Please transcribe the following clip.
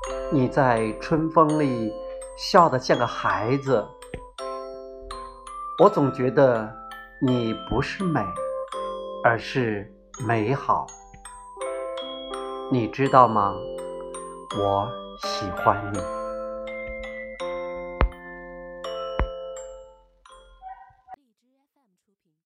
你在春风里笑得像个孩子，我总觉得你不是美，而是美好。你知道吗？我喜欢你。